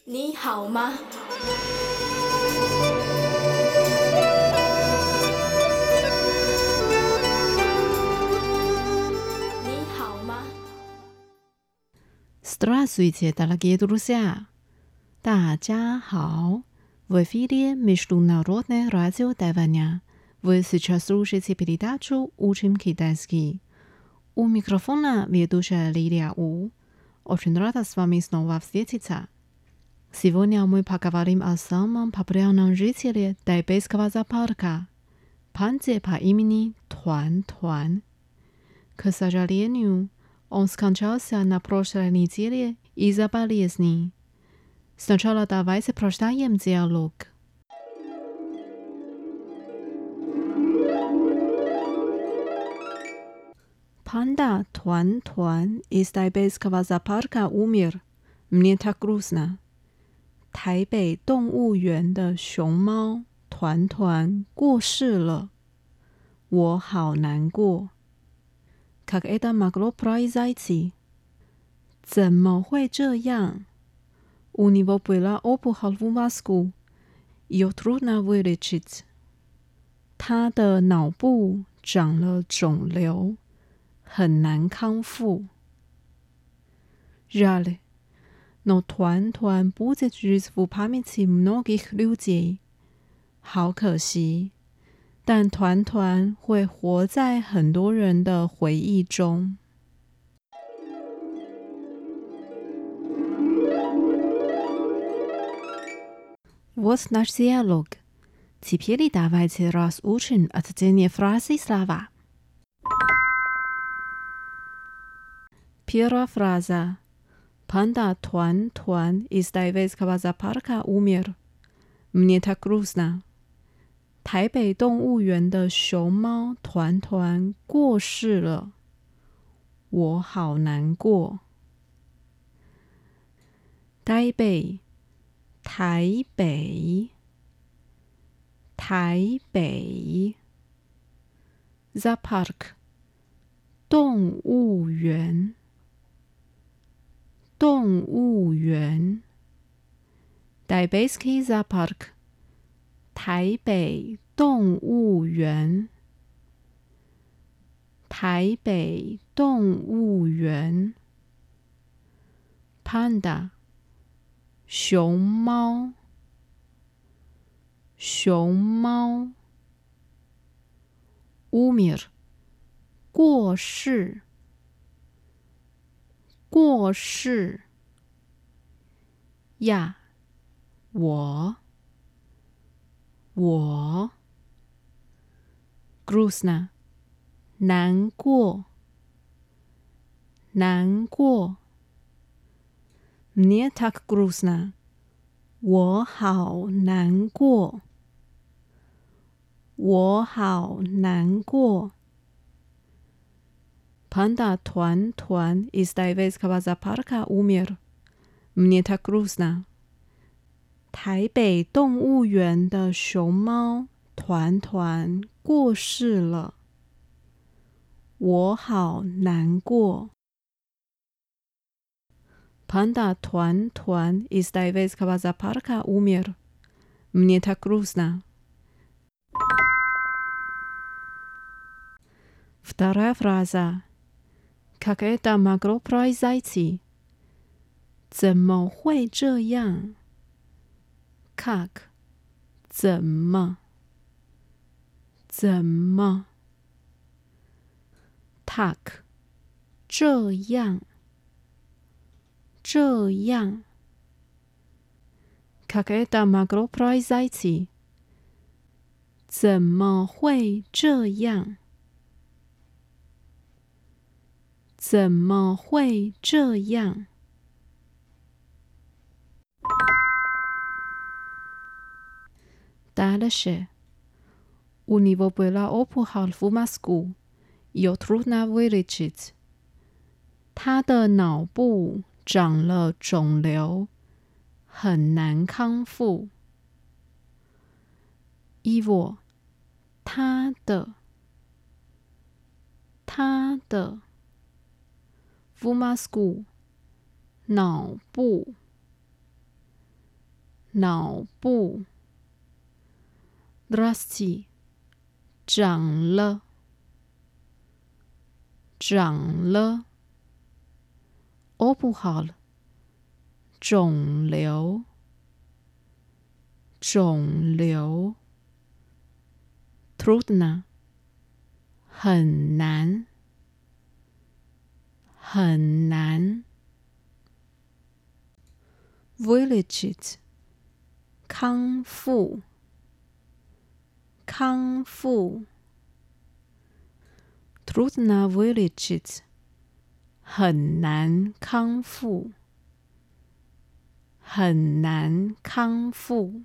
你好吗？你好吗？ Здравствуйте, дорогие друзья! 大家好! В эфире Международное радио Тайваня. Вы сейчас слушаете передачу «Учим китайский». У микрофона ведущая Лилия У. Очень рада с вами снова встретиться. Сегодня мы поговорим о самом популярном жителе тайбэйского зоопарка – панде по имени Туан-Туан. К сожалению, он скончался на прошлой неделе из-за болезни. Сначала давайте прочитаем диалог. Панда Туан-Туан из тайбэйского зоопарка умер. Мне так грустно. 台北动物园的熊猫团团过世了，我好难过。Как это могло произойти? 怎么会这样？ У него была опухоль в мозгу. Ее трудно вылечить. 他的脑部长了肿瘤，很难康复。Жаль, но Туан-Туан будет жить в памяти многих людей. 好可惜，但团团会活在很多人的回忆中。Вот наш диалог. Теперь давайте разучим отдельные фразы и слова. Первая фраза. Панда Туан-Туан из тайвейского зоопарка умер. Мне так грустно. 台北动物园的熊猫团团过世了，我好难过。台北，台北，台北 ，Zoopark 动物园，动物园 ，Taipeiский Zoopark 台北动物园，台北动物园 ，Panda 熊猫，熊猫 ，Umir 过世，过世呀，我 Грустно 难过，难过 Мне так грустно 我好难过，我好难过。Панда Туан-Туан из тайвейского зоопарка умер. Мне так грустно. 台北动物园的熊猫团团过世了，我好难过。Панда Туан-Туан из тайвейского зоопарка умер. Мне так грустно. Вторая фраза. Как это могло произойти? 怎么会这样？Как 怎么？怎么 ？Tak 这样，这样。Как это могло произойти? 怎么会这样？怎么会这样？Дальше. У него была опухоль в мозгу. Ее трудно вылечить. 他的脑部长了肿瘤，很难康复。Его 他的，他的。в мозгу 脑部脑部 Расти 长了长了 Опухоль 肿瘤肿瘤 Трудно 很难很难 Вылечить 康复康复 Трудно вылечить 很难康复很难康复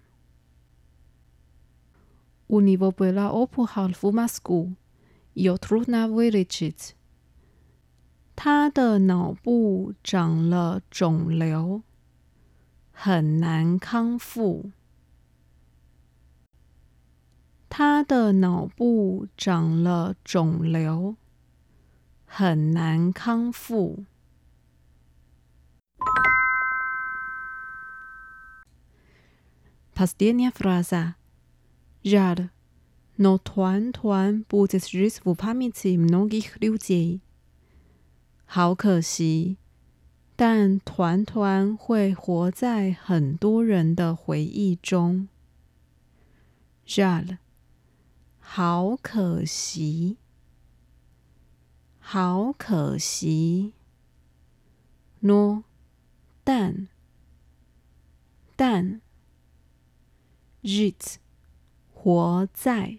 У него была опухоль в мозгу, ее трудно вылечить. 他的脑部长了肿瘤，很难康复。他的脑部长了肿瘤，很难康复。Последняя фраза. Жаль, но团团 будет жить в памяти многих людей. 好可惜，但团团会活在很多人的回忆中。Жаль, 好可惜，好可惜。No, 但 Жить活在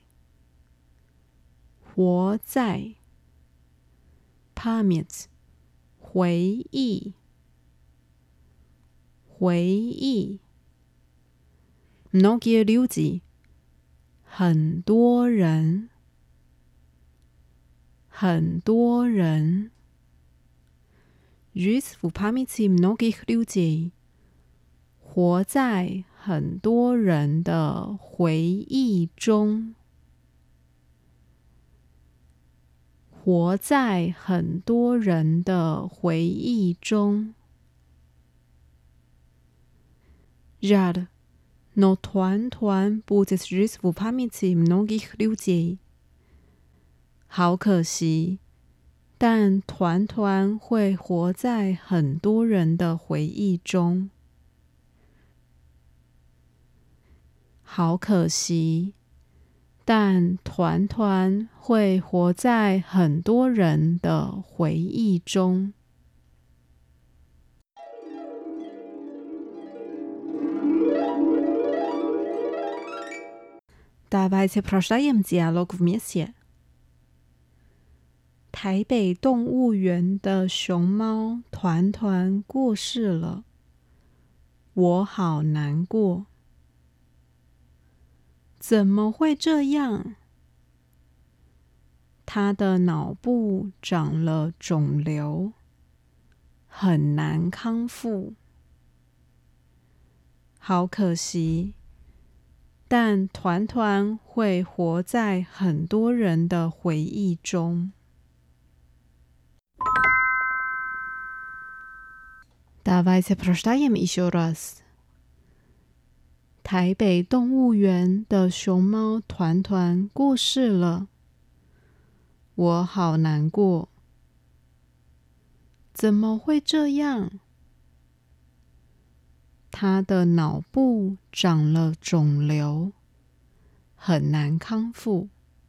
活在 Память 回忆回忆 Многие люди 很多人很多人 Жить в памяти многих людей 活在很多人的回忆中，活在很多人的回忆中。Жаль, но团团 будет жить в памяти многих людей. 好可惜，但团团会活在很多人的回忆中。好可惜，但团团会活在很多人的回忆中。Давайте прочитаем диалог вместе. 台北动物园的熊猫团团过世了，我好难过。怎么会这样？他的脑部长了肿瘤，很难康复。好可惜，但团团会活在很多人的回忆中。Давайте прочитаем еще раз. 台北动物园的熊猫团团过世了，我好难过。怎么会这样？他的脑部长了肿瘤，很难康复。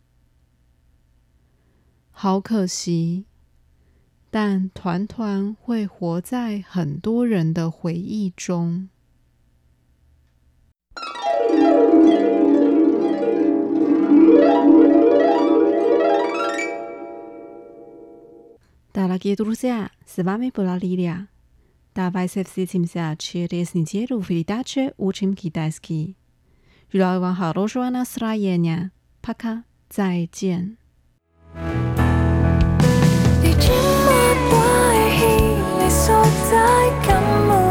好可惜，但团团会活在很多人的回忆中。Дорогие друзья, с вами была Лилия. Давайте встретимся через неделю в передаче «Учим китайский». Желаю вам хорошего настроения. Пока. 再见。 你這麼乖，你索在感冒。